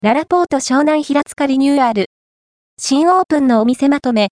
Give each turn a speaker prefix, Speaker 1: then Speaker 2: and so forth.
Speaker 1: ララポート湘南平塚リニューアル。新オープンのお店まとめ、